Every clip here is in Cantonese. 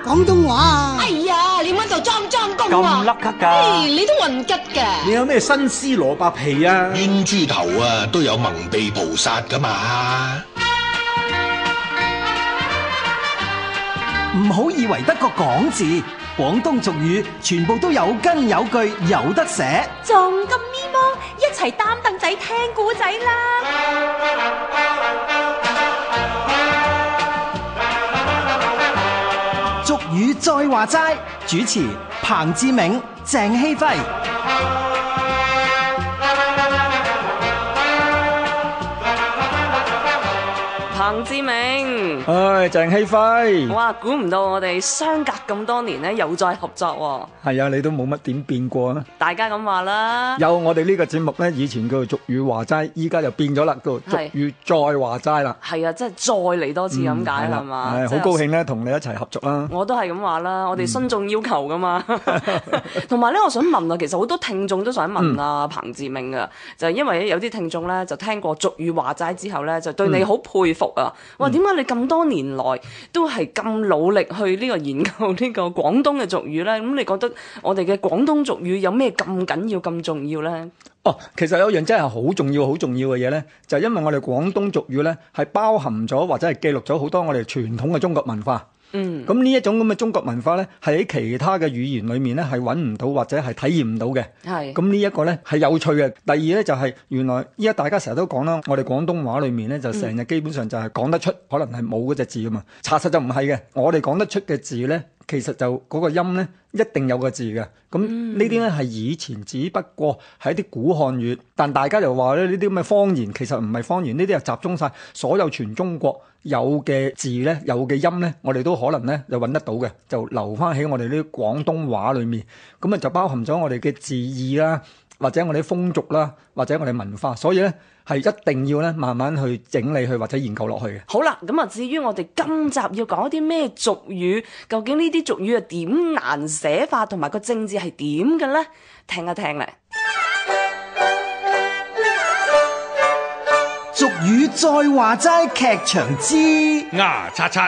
廣東話啊？ 哎呀，你搵度裝工啊？ 咁甩咳㗎？ 你都混吉㗎？ 你有咩新絲蘿蔔皮啊？ 冤豬頭啊，都有蒙蔽菩薩噶嘛。 唔好以為得個講字，廣東俗語全部都有根有據有得寫。 仲咁咪麼？一齊擔凳仔聽古仔啦！ 俗語再話齋，主持彭志銘、鄭希輝。 彭志銘， 鄭希輝， 哇！估唔到我哋相隔咁多年咧，又再合作喎。 係啊，你都冇乜點變過啊！ 大家咁話啦。 有我哋呢個節目咧，以前叫做俗語話齋，依家就變咗啦，叫做俗語再話齋啦。 係啊，即係再嚟多次咁解係嘛？ 係好高興咧，同你一齊合作啦。 我都係咁話啦，我哋徇眾要求噶嘛。同埋咧，我想問啊，其實好多聽眾都想問啊，彭志銘噶，就係因為有啲聽眾咧就聽過俗語話齋之後咧，就對你好佩服啊！哇，點解你咁多年來都係咁努力去呢個研究呢個廣東嘅俗語咧？咁你覺得我哋嘅廣東俗語有咩咁緊要、咁重要咧？ 哦，其實有樣真係好重要、好重要嘅嘢咧，就係因為我哋廣東俗語咧係包含咗或者係記錄咗好多我哋傳統嘅中國文化。咁呢一種咁嘅中國文化咧，係喺其他嘅語言裏面咧係揾唔到或者係體驗唔到嘅。係。咁呢一個咧係有趣嘅。第二咧就係原來依家大家成日都講啦，我哋廣東話裏面咧就成日基本上就係講得出，可能係冇嗰隻字㗎嘛。查實就唔係嘅，我哋講得出嘅字咧，其實就嗰個音咧一定有個字嘅。咁呢啲咧係以前只不過係一啲古漢語，但大家就話咧呢啲咁嘅方言其實唔係方言，呢啲係集中晒所有全中國有嘅字咧，有嘅音咧，我哋都可能咧就揾得到嘅，就留翻喺我哋呢啲廣東話裏面。咁啊就包含咗我哋嘅字義啦，或者我哋風俗啦，或者我哋文化，所以咧係一定要咧慢慢去整理去或者研究落去嘅。 好啦，咁啊至於我哋今集要講啲咩俗語，究竟呢啲俗語係點難寫法，同埋個正字係點嘅咧？聽一聽咧。 俗語再話齋劇場之牙刷刷。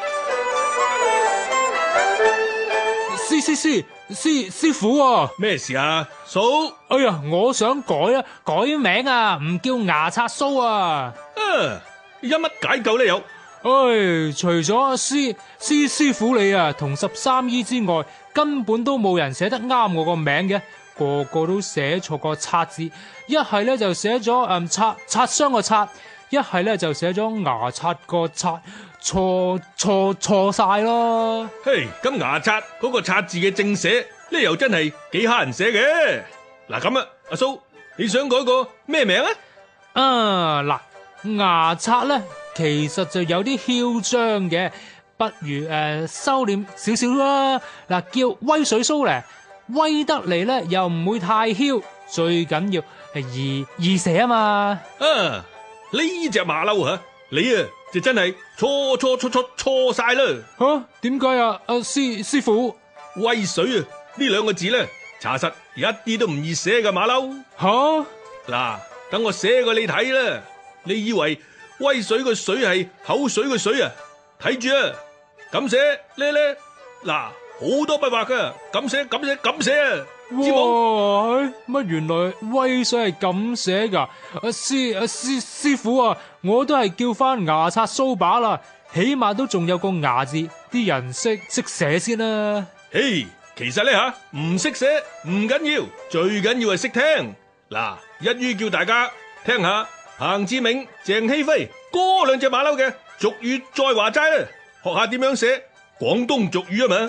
師傅啊， 咩事啊，嫂？ 哎呀，我想改名啊，唔叫牙刷蘇啊。 有乜解救呢？有？ 除咗師傅你啊，同13姨之外，根本都冇人寫得啱我個名嘅，個個都寫錯個刷字，一係咧就寫咗擦傷個擦，一係咧就寫咗牙刷個刷。錯晒咯！ 嘿，咁牙刷嗰個刷字嘅正寫呢，又真係幾蝦人寫嘅。嗱咁啊，阿蘇，你想改個咩名啊？ 牙刷咧，其實就有啲囂張嘅，不如收斂少少啦。嗱，叫威水蘇咧，威得嚟咧又唔會太囂，最緊要係易寫啊嘛。 呢隻馬騮啊，你啊！就真係錯晒啦！ 吓，點解啊？師傅， 威水啊！呢兩個字咧，查實一啲都唔易寫噶，馬騮。 吓， 嗱，等我寫個你睇啦。你以為威水個水係口水個水啊？睇住啊，咁寫咧，嗱，好多筆畫噶，咁寫啊！ 哇，乜原來威水係咁寫噶？師傅啊，我都係叫翻牙刷蘇把啦，起碼都仲有個牙字，啲人識寫先啦。 其實咧唔識寫唔緊要，最緊要係識聽。嗱，一於叫大家聽下彭志銘、鄭希輝嗰兩隻馬騮嘅俗語再話齋啦，學下點樣寫廣東俗語啊嘛。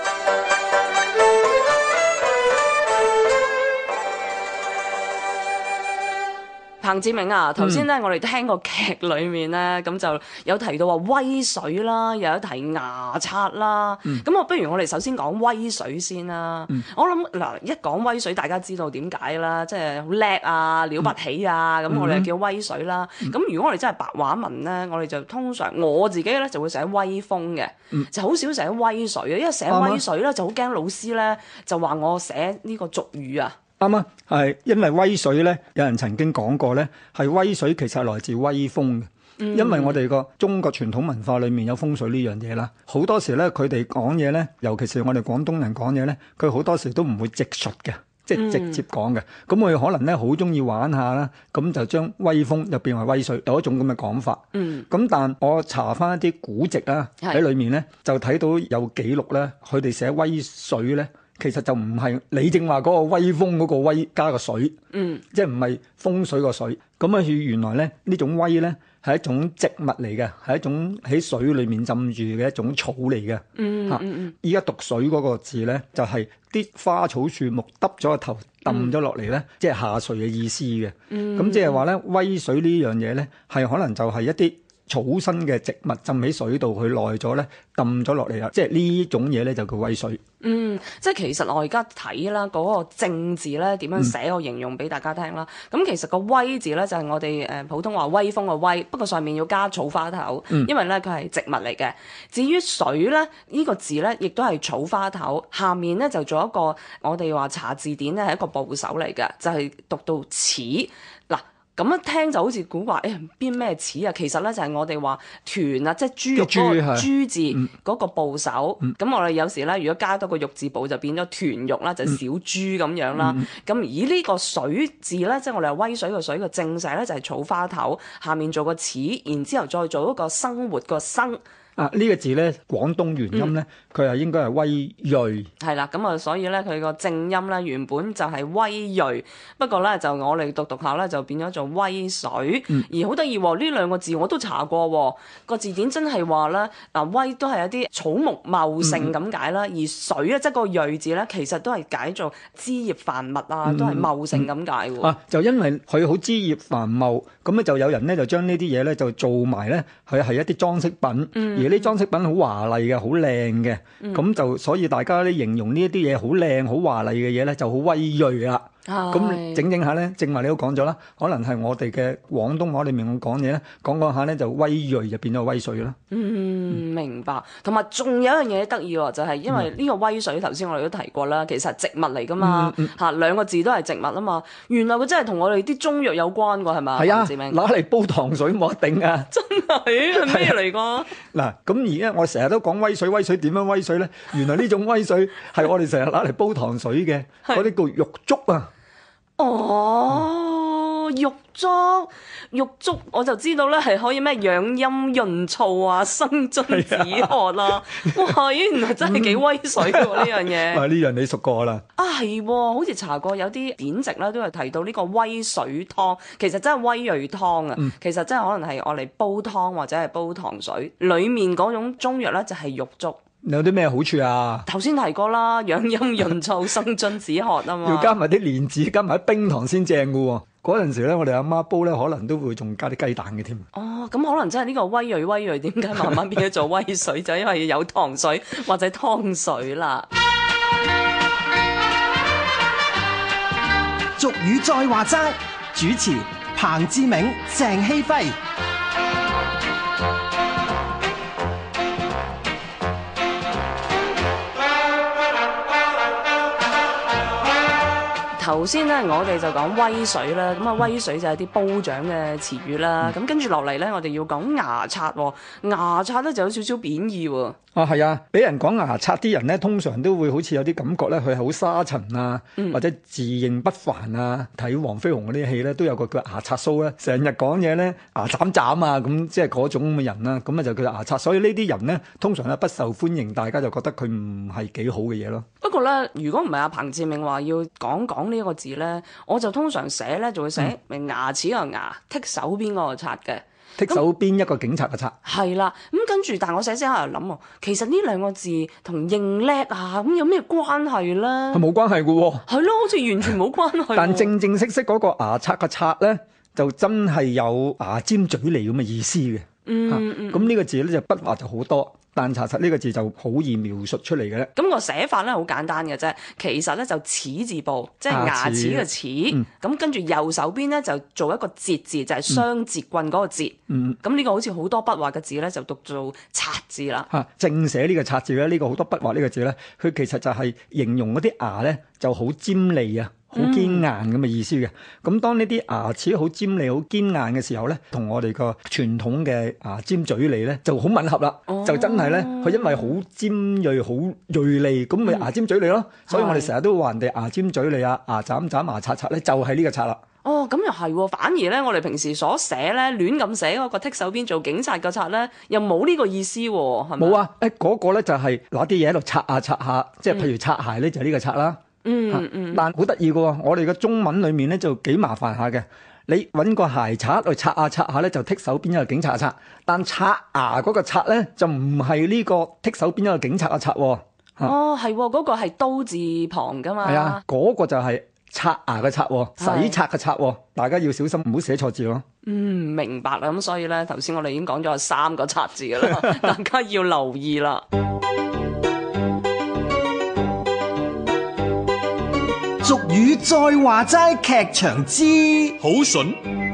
彭志銘啊，頭先咧我哋聽個劇裏面咧，咁就有提到話威水啦，又有提牙刷啦。咁不如我哋首先講威水先啦。我諗嗱，一講威水，大家知道點解啦，即係好叻啊，了不起啊，咁我哋就叫威水啦。咁如果我哋真係白話文咧，我哋就通常我自己咧就會寫威風嘅，就好少寫威水嘅，因為寫威水咧就好驚老師咧就話我寫呢個俗語啊。 啱啊，係因為威水咧，有人曾經講過咧，係威水其實係來自威風嘅。 因為我哋個中國傳統文化裏面有風水呢樣嘢啦，好多時咧佢哋講嘢咧，尤其是我哋廣東人講嘢咧，佢好多時都唔會直述嘅。即係直接講嘅，咁佢可能咧好中意玩下啦，咁就將威風就變為威水，有一種咁嘅講法。咁但我查翻一啲古籍啦，喺裏面咧就睇到有記錄咧，佢哋寫威水咧，其實就唔係你正話嗰個威風嗰個威加個水，即係唔係風水個水。咁啊，原來咧呢種威咧係一種植物嚟嘅，係一種喺水裏面浸住嘅一種草嚟嘅。依家讀水嗰個字咧，就係啲花草樹木耷咗個頭揼咗落嚟咧，即係下垂嘅意思嘅。咁即係話咧，威水呢樣嘢咧，係可能就係一啲草生嘅植物浸喺水度，佢耐咗咧，揼咗落嚟啦。即係呢種嘢咧就叫威水。 即係其實我而家睇啦，嗰個正字咧點樣寫，我形容俾大家聽啦。咁其實個威字咧就係我哋普通話威風嘅威，不過上面要加草花頭，因為咧佢係植物嚟嘅。至於水咧呢個字咧，亦都係草花頭，下面咧就做一個我哋話查字典咧係一個部首嚟嘅，就係讀到齒嗱。咁一聽就好似古話，邊咩齒啊？其實咧就係我哋話豚啊，即係豬肉嗰個豬字嗰個部首。咁我哋有時咧，如果加多個肉字部，就變咗豚肉啦，就小豬咁樣啦。咁而呢個水字咧，即係我哋話威水個水個正寫咧，就係草花頭，下面做個齒，然之後再做一個生活個生。 呢個字咧，廣東原音咧，佢係應該係威銳。 係啦，咁啊，所以咧佢個正音咧原本就係威銳，不過咧就我哋讀下咧就變咗做威水。而好得意喎，呢兩個字我都查過喎，個字典真係話咧嗱，威都係一啲草木茂盛咁解啦，而水啊即係個銳字咧，其實都係解做枝葉繁密啊，都係茂盛咁解喎。 就因為佢好枝葉繁茂，咁咧就有人咧就將呢啲嘢咧就做埋咧，佢係一啲裝飾品。而啲裝飾品好華麗嘅，好靚嘅，咁就所以大家咧形容呢一啲嘢好靚、好華麗嘅嘢咧，就好威銳啦。咁整下咧，正話你都講咗啦，可能係我哋嘅廣東話裏面講嘢咧，講下咧就威銳就變咗威水啦。 明白。同埋仲有一樣嘢得意喎，就係因為呢個威水頭先我哋都提過啦，其實係植物嚟噶嘛，兩個字都係植物啊嘛。原來佢真係同我哋啲中藥有關㗎，係咪？ 係啊，攞嚟煲糖水冇得頂啊！ 真係咩嚟㗎？ 嗱，咁而家我成日都講威水，威水點樣威水咧？原來呢種威水係我哋成日攞嚟煲糖水嘅，嗰啲叫玉竹啊！玉竹我就知道咧，係可以咩養陰潤燥啊、生津止渴啦。哇，原來真係幾威水喎呢樣嘢。呢樣你熟過啦。 係，好似查過有啲典籍咧，都係提到呢個威水湯，其實真係威銳湯啊。其實真係可能係我嚟煲湯或者係煲糖水，裡面嗰種中藥咧就係玉竹。 有啲咩好處啊？ 頭先提過啦，養陰潤燥、生津止渴啊嘛。 要加埋啲蓮子，加埋啲冰糖先正噶喎。嗰陣時咧，我哋阿媽煲咧，可能都會仲加啲雞蛋嘅添。 咁可能真係呢個威銳，點解慢慢變咗做威水？就因為有糖水或者湯水啦。 俗語再話齋，主持彭志銘、鄭希輝。 頭先咧，我哋就講威水啦，咁啊威水就係啲褒獎嘅詞語啦。咁跟住落嚟咧，我哋要講牙刷喎。牙刷咧就有少少貶義喎。 係啊，俾人講牙刷啲人咧，通常都會好似有啲感覺咧，佢係好沙塵啊，或者自認不凡啊。睇黃飛鴻嗰啲戲咧，都有個叫牙刷蘇咧，成日講嘢咧牙斬斬啊，咁即係嗰種咁嘅人啦。咁啊就叫牙刷。所以呢啲人咧，通常咧不受歡迎，大家就覺得佢唔係幾好嘅嘢咯。 不過咧，如果唔係阿彭志銘話要講呢個字咧，我就通常寫咧就會寫明牙齒個牙，剔手邊嗰個刷嘅。 剔手邊一個警察嘅刷。 係啦，咁跟住，但係我寫寫下又諗喎，其實呢兩個字同認叻啊，咁有咩關係咧？ 係冇關係嘅喎。 係咯，好似完全冇關係。 但正正式式嗰個牙刷嘅刷咧，就真係有牙尖嘴利咁嘅意思嘅。咁呢個字咧就筆畫就好多。但查實呢個字就好易描述出嚟嘅咧。 咁個寫法咧好簡單嘅啫，其實咧就齒字部，即係牙齒嘅齒。咁跟住右手邊咧就做一個節字，就係雙節棍嗰個節。咁呢個好似好多筆畫嘅字咧，就讀做刷字啦。 正寫呢個刷字咧，呢個好多筆畫呢個字咧，佢其實就係形容嗰啲牙咧就好尖利啊。 好堅硬咁嘅意思嘅。咁當呢啲牙齒好尖利、好堅硬嘅時候咧，同我哋個傳統嘅牙尖嘴利咧就好吻合啦。就真係咧，佢因為好尖鋭、好鋭利，咁咪牙尖嘴利咯。所以我哋成日都話人哋牙尖嘴利啊、牙斬斬、牙刷刷咧，就係呢個刷啦。 哦，咁又係喎，反而咧，我哋平時所寫咧，亂咁寫嗰個剔手邊做警察個刷咧，又冇呢個意思喎，係咪？ 冇啊，嗰個咧就係攞啲嘢喺度刷下刷下，即係譬如擦鞋咧就係呢個刷啦。但好得意嘅喎，我哋嘅中文裡面咧就幾麻煩下嘅。你揾個鞋刷去刷下刷下咧，就剔手邊一個警察刷。但刷牙嗰個刷咧，就唔係呢個剔手邊一個警察嘅刷喎。 哦，係喎，嗰個係刀字旁噶嘛。 係啊，嗰個就係刷牙嘅刷，洗刷嘅刷，大家要小心，唔好寫錯字咯。 明白啦。咁所以咧，頭先我哋已經講咗3個刷字㗎啦，大家要留意啦。 俗語再話齋，劇場之好筍。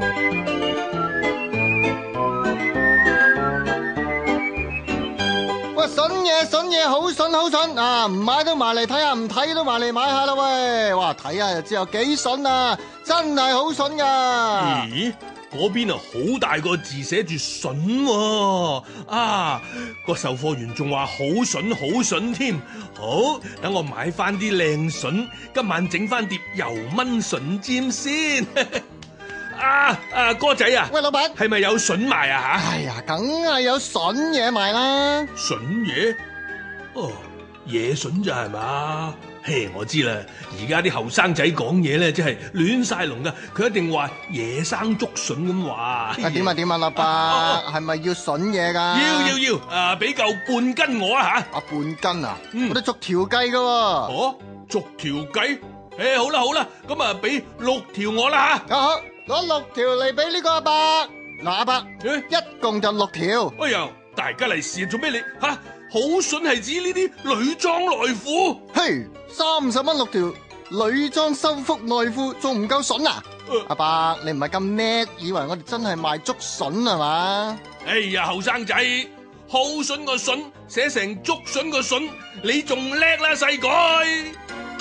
喂，筍嘢好筍啊！唔買都埋嚟睇下，唔睇都埋嚟買下啦喂！哇，睇下就知有幾筍啊！真係好筍噶。 咦？嗰邊啊，好大個字寫住筍喎！啊，個售貨員仲話好筍添。好，等我買翻啲靚筍，今晚整翻碟油炆筍尖先。哥仔啊， 喂，老闆， 係咪有筍賣啊吓？ 哎呀，梗係有筍嘢賣啦。 筍嘢？哦，野筍咋係嘛？嘿，我知啦，而家啲後生仔講嘢咧，真係亂晒龍噶。佢一定話野生竹筍咁話。 點啊，老伯，係咪要筍嘢噶？ 要，俾夠半斤我啊吓。 半斤啊？我哋逐條計噶。 哦，逐條計？好啦，咁啊俾6條我啦吓。 好，攞6條嚟俾呢個阿伯。嗱，阿伯，一共就6條。 哎呀，大家嚟試做咩你吓？好筍係指呢啲女裝內褲。 嘿，30蚊6條女裝修復內褲，仲唔夠筍啊？阿伯，你唔係咁叻，以為我哋真係賣竹筍係嘛？ 哎呀，後生仔，好筍個筍寫成竹筍個筍，你仲叻啦，細改。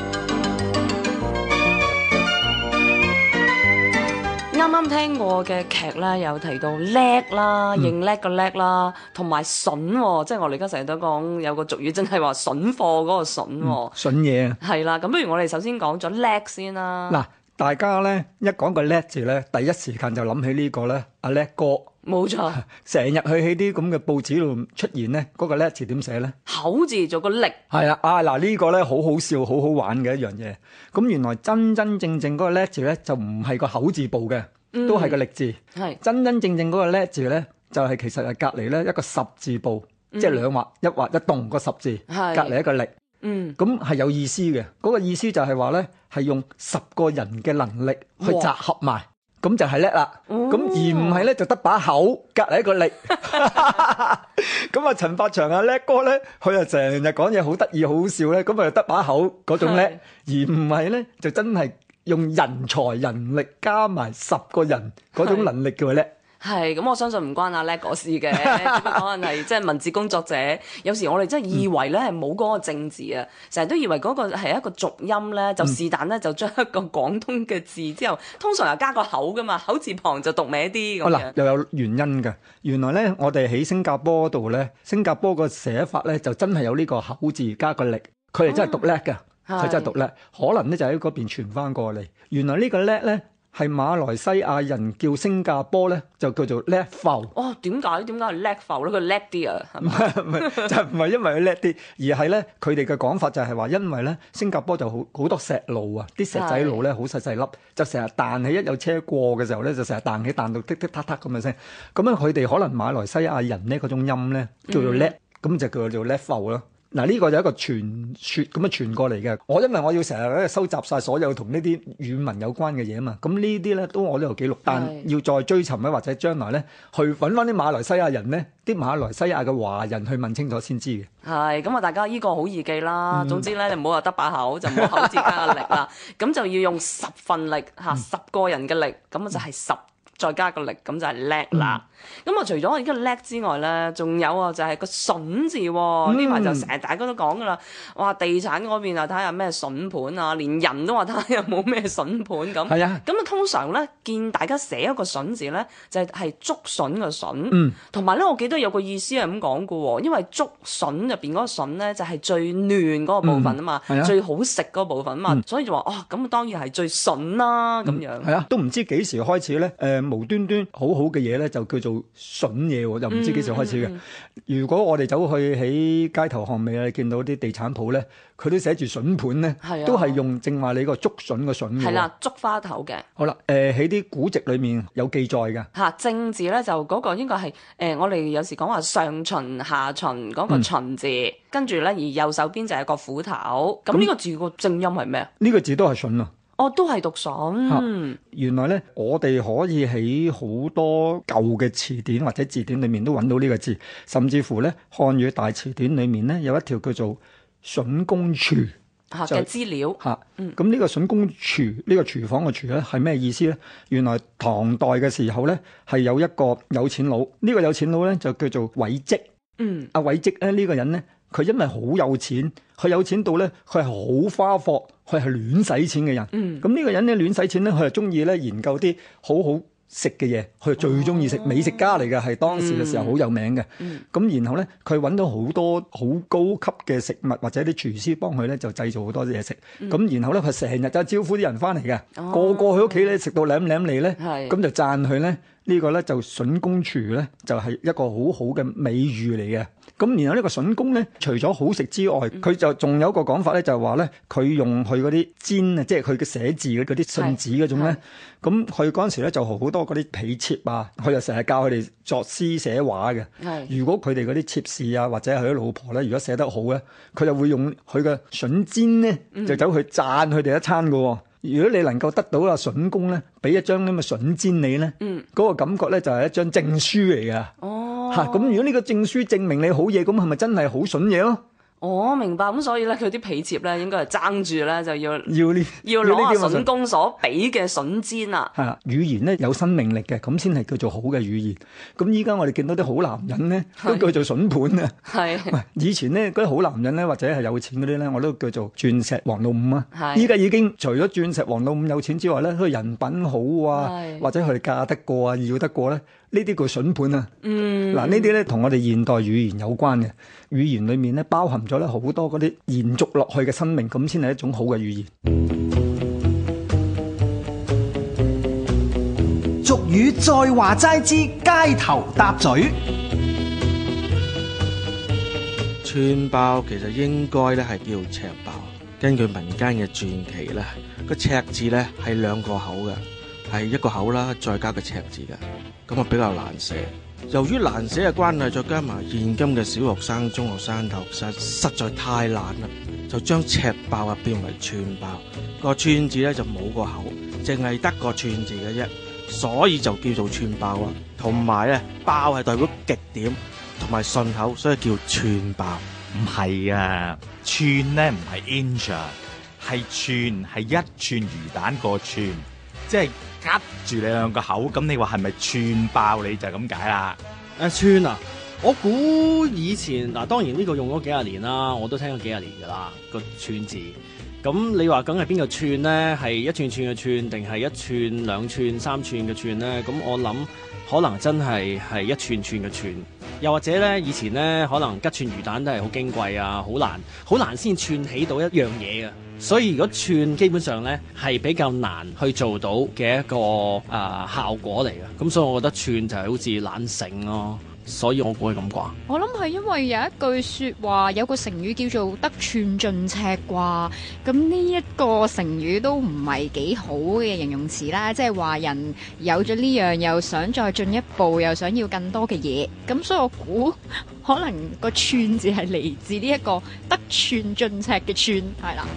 啱啱聽過嘅劇咧，有提到叻啦，認叻個叻啦，同埋筍，即係我哋而家成日都講有個俗語，真係話筍貨嗰個筍。 筍嘢啊！ 係啦，咁不如我哋首先講咗叻先啦。 嗱，大家咧一講個叻字咧，第一時間就諗起呢個咧，阿叻哥。冇錯，成日去喺啲咁嘅報紙度出現咧，嗰個叻字點寫咧？口字做個力。係啦，嗱呢個咧好好笑、好好玩嘅一樣嘢。咁原來真真正正嗰個叻字咧，就唔係個口字部嘅，都係個力字。係真真正正嗰個叻字咧，就係其實係隔離咧一個十字部，即係兩畫一畫一動個十字，隔離一個力。咁係有意思嘅。嗰個意思就係話咧，係用10個人嘅能力去集合埋。咁就係叻啦，咁而唔係咧就得把口隔離一個力。咁啊，陳百祥啊叻哥咧，佢啊成日講嘢好得意好笑咧，咁啊得把口嗰種叻，而唔係咧就真係用人才人力加埋10個人嗰種能力叫佢叻。係，咁我相信唔關阿叻嗰事嘅，只不過可能係即係文字工作者。有時我哋真係以為咧係冇嗰個正字啊，成日都以為嗰個係一個濁音咧，就是但咧就將一個廣東嘅字之後，通常又加個口噶嘛，口字旁就讀歪啲咁樣。嗱，又有原因嘅。原來咧，我哋喺新加坡度咧，新加坡個寫法咧就真係有呢個口字加個力，佢哋真係讀叻嘅，佢真係讀叻。可能咧就喺嗰邊傳翻過嚟。原來呢個叻咧，係馬來西亞人叫新加坡咧，就叫做叻埠。哦，點解係叻埠咧？佢叻啲啊？唔係就唔係因為佢叻啲，而係咧佢哋嘅講法就係話，因為咧新加坡就好多石路啊，啲石仔路咧好細粒，就成日彈起，一有車過嘅時候咧，就成日彈起彈到剔剔嗒嗒咁嘅聲。咁樣佢哋可能馬來西亞人咧嗰種音咧叫做叻，咁就叫做叻埠咯。嗱，呢個就係一個傳說咁樣傳過嚟嘅。因為我要成日咧收集晒所有同呢啲語文有關嘅嘢啊嘛。咁呢啲咧都我都有記錄，但要再追尋咧，或者將來咧去揾翻啲馬來西亞人咧，啲馬來西亞嘅華人去問清楚先知嘅。係咁啊！大家呢個好易記啦。總之咧，你唔好話得把口，就唔好口字加個力啦。咁就要用10份力嚇，10個人嘅力，咁就係10 再加個力，咁就係叻啦。咁啊，除咗呢個叻之外咧，仲有啊，就係個筍字喎。呢排就成日大家都講噶啦，哇！地產嗰邊啊，睇下咩筍盤啊，連人都話睇下有冇咩筍盤咁。 係啊， 咁啊，通常咧見大家寫一個筍字咧，就係竹筍嘅筍。同埋咧，我記得有個意思係咁講嘅喎，因為竹筍入邊嗰個筍咧就係最嫩嗰個部分啊嘛，最好食嗰個部分啊嘛，所以就話哦，咁當然係最筍啦咁樣。 係啊，都唔知幾時開始咧，無端端好好嘅嘢咧就叫做筍嘢喎，又唔知幾時開始嘅。如果我哋走去喺街頭巷尾啊，見到啲地產鋪咧，佢都寫住筍盤咧，都係用正話你個竹筍嘅筍嘅。係啦， 竹花頭嘅。 好啦，喺啲古籍裏面有記載嘅。 嚇，正字咧就嗰個應該係我哋有時講話上旬下旬嗰個旬字，跟住咧而右手邊就係個斧頭。咁呢個字個正音係咩啊？ 呢個字都係筍啊。 哦，都係讀筍。 原來咧，我哋可以喺好多舊嘅詞典或者字典裏面都揾到呢個字，甚至乎咧漢語大詞典裏面咧有一條叫做筍工廚嘅資料。 咁呢個筍工廚呢個廚房嘅廚咧係咩意思咧？原來唐代嘅時候咧係有一個有錢佬，呢個有錢佬咧就叫做韋績。阿韋績咧呢個人咧，佢因為好有錢，佢有錢到咧，佢係好花霍，佢係亂使錢嘅人。咁呢個人咧亂使錢咧，佢係中意咧研究啲好好食嘅嘢，佢最中意食，美食家嚟嘅，係當時嘅時候好有名嘅。咁然後咧，佢揾到好多好高級嘅食物，或者啲廚師幫佢咧就製造好多嘢食。咁然後咧，佢成日就招呼啲人翻嚟嘅，個個去屋企咧食到舐舐脷咧，咁就讚佢咧。呢個咧就筍工廚咧，就係一個好好嘅美譽嚟嘅。咁然後呢個筍工咧，除咗好食之外，佢就仲有一個講法咧，就係話咧，佢用佢嗰啲砧啊，即係佢嘅寫字嘅嗰啲信紙嗰種咧。咁佢嗰陣時咧就好多嗰啲婢妾啊，佢就成日教佢哋作詩寫畫嘅。如果佢哋嗰啲妾侍啊，或者係佢啲老婆咧，如果寫得好咧，佢就會用佢嘅筍砧咧，就走去讚佢哋一餐㗎喎。如果你能夠得到阿筍工咧，俾一張咁嘅筍砧你咧，嗰個感覺咧就係一張證書嚟㗎。咁如果呢個證書證明你好嘢，咁係咪真係好筍嘢咯？明白。咁所以咧，佢啲婢妾咧應該係爭住咧就要攞阿筍工所俾嘅筍砧啦。係啦，語言咧有生命力嘅，咁先係叫做好嘅語言。咁依家我哋見到啲好男人咧，都叫做筍盤啊。係。以前咧嗰啲好男人咧，或者係有錢嗰啲咧，我都叫做鑽石王老五啊。係。依家已經除咗鑽石王老五有錢之外咧，佢人品好啊，或者佢哋嫁得過啊，要得過咧，呢啲叫筍盤啊。嗱，呢啲咧同我哋現代語言有關嘅，語言裏面咧包含咗咧好多嗰啲延續落去嘅生命，咁先係一種好嘅語言。 俗語再話齋之街頭搭嘴。 串爆其實應該咧係叫赤爆，根據民間嘅傳奇咧，個赤字咧係兩個口嘅，係一個口啦，再加個赤字嘅，咁啊比較難寫。由於難寫嘅關係，再加埋現今嘅小學生、中學生頭實在太難啦，就將赤爆啊變為串爆。個串字咧就冇個口，淨係得個串字嘅啫，所以就叫做串爆啦。同埋咧，爆係代表極點同埋順口，所以叫串爆。 唔係啊，串咧唔係 inch 啊，係串，係一串魚蛋個串，即係夾住你兩個口，咁你話係咪串爆你就係咁解啦？ 串啊！我估以前嗱，當然呢個用咗幾廿年啦，我都聽咗幾廿年噶啦個串字。咁你話梗係邊個串咧？係一串串嘅串，定係一串、兩串、三串嘅串咧？咁我諗可能真係一串串嘅串，又或者咧以前咧可能吉串魚蛋都係好矜貴啊，好難先串起到一樣嘢嘅。所以如果串基本上咧係比較難去做到嘅一個效果嚟嘅。咁所以我覺得串就係好似懶醒咯。所以我估係咁啩。 我諗係因為有一句說話，有個成語叫做得寸進尺啩。咁呢一個成語都唔係幾好嘅形容詞啦，即係話人有咗呢樣，又想再進一步，又想要更多嘅嘢。咁所以我估可能個寸字係嚟自呢一個得寸進尺嘅寸，係啦。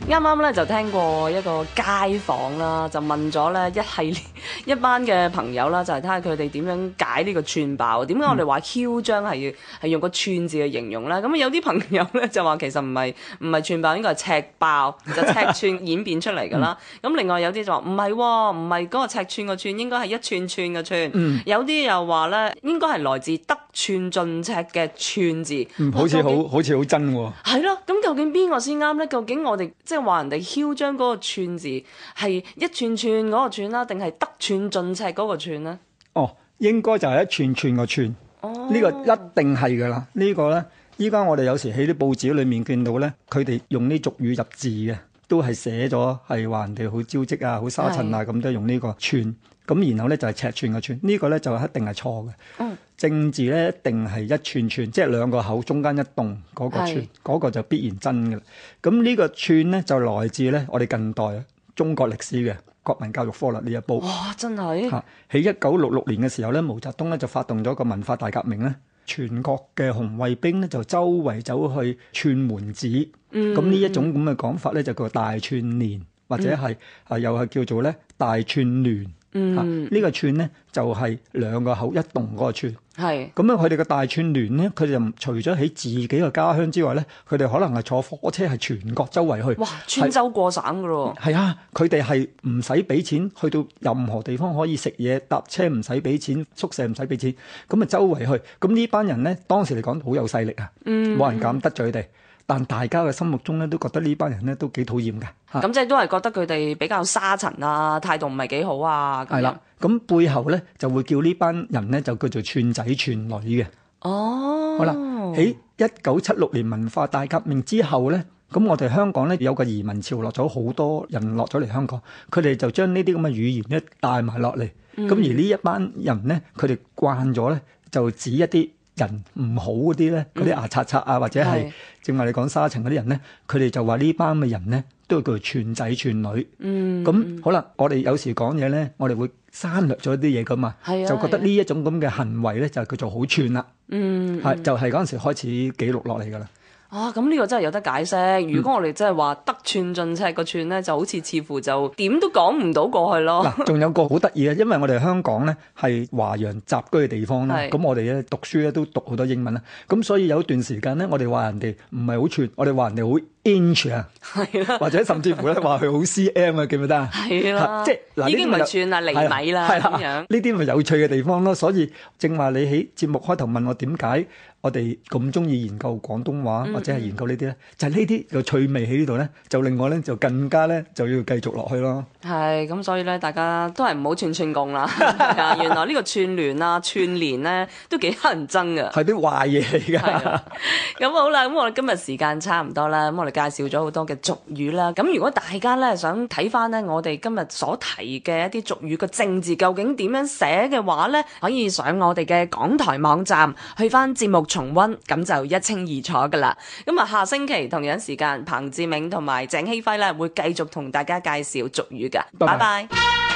啱啱咧就聽過一個街訪啦，就問咗咧一系列一班嘅朋友啦，就係睇下佢哋點樣解呢個串爆。點解我哋話囂張係用個串字去形容咧？咁有啲朋友咧就話其實唔係串爆，應該係赤爆，就尺寸演變出嚟㗎啦。咁另外有啲就話唔係嗰個尺寸個寸，應該係一串串嘅串。有啲又話咧應該係來自得寸進尺嘅寸字。好似好真喎。 係咯，咁究竟邊個先啱咧？究竟我哋即係話人哋囂張嗰個寸字係一串串嗰個串啦，定係得寸進尺嗰個串咧？ 哦，應該就係一串串個串。呢個一定係噶啦。呢個咧，依家我哋有時喺啲報紙裏面見到咧，佢哋用啲俗語入字嘅，都係寫咗係話人哋好招積啊、好沙塵啊，咁都用呢個串。咁然後咧就係尺寸嘅寸，呢個咧就一定係錯嘅。正字咧一定係一串串，即係兩個口中間一棟嗰個串，嗰個就必然真嘅啦。咁呢個串咧就來自咧我哋近代中國歷史嘅國民教育科啦呢一部。 哇！真係喺1966年嘅時候咧，毛澤東咧就發動咗個文化大革命咧，全國嘅紅衛兵咧就周圍走去串門子。咁呢一種咁嘅講法咧就叫大串連，或者係又係叫做咧大串聯。呢個串咧就係兩個口一棟嗰個串。係咁樣，佢哋嘅大串聯咧，佢哋就除咗喺自己嘅家鄉之外咧，佢哋可能係坐火車係全國周圍去。哇！ 穿州過省噶咯。係啊，佢哋係唔使俾錢，去到任何地方可以食嘢，搭車唔使俾錢，宿舍唔使俾錢，咁啊周圍去。咁呢班人咧，當時嚟講好有勢力啊，冇人敢得罪佢哋。但大家嘅心目中咧，都覺得呢班人咧都幾討厭嘅。 咁即係都係覺得佢哋比較沙塵啊，態度唔係幾好啊。 係啦，咁背後咧就會叫呢班人咧就叫做串仔串女嘅。 哦， 好啦，喺1976年文化大革命之後咧，咁我哋香港咧有個移民潮落咗好多人落咗嚟香港，佢哋就將呢啲咁嘅語言咧帶埋落嚟。咁而呢一班人咧，佢哋慣咗咧就指一啲人唔好嗰啲咧，嗰啲牙刷刷啊，或者係正話你講沙塵嗰啲人咧，佢哋就話呢班嘅人咧都係叫做串仔串女。咁好啦，我哋有時講嘢咧，我哋會刪略咗啲嘢噶嘛，就覺得呢一種咁嘅行為咧就叫做好串啦。係就係嗰陣時開始記錄落嚟噶啦。 啊，咁呢個真係有得解釋。如果我哋真係話得寸進尺個寸咧，就好似似乎就點都講唔到過去咯。 嗱，仲有個好得意嘅，因為我哋香港咧係華洋雜居嘅地方啦，咁我哋咧讀書咧都讀好多英文啦，咁所以有段時間咧，我哋話人哋唔係好串，我哋話人哋好 inch 啊，或者甚至乎咧話佢好 cm 啊，記唔記得啊？係啦，即係嗱， 已經唔係串啦，厘米啦咁樣。 呢啲咪有趣嘅地方咯。所以正話你喺節目開頭問我點解我哋咁中意研究廣東話或者係研究呢啲咧，就係呢啲個趣味喺呢度咧，就令我咧就更加咧就要繼續落去咯。 係咁，所以咧大家都係唔好串串共啦。原來呢個串聯啊、串連咧都幾乞人憎㗎， 係啲壞嘢嚟㗎。 咁好啦，咁我哋今日時間差唔多啦，咁我哋介紹咗好多嘅俗語啦。咁如果大家咧想睇翻咧我哋今日所提嘅一啲俗語嘅正字究竟點樣寫嘅話咧，可以上我哋嘅港台網站去翻節目重溫，咁就一清二楚噶啦。咁啊，下星期同樣時間，彭志銘同埋鄭希輝咧會繼續同大家介紹俗語噶。拜拜。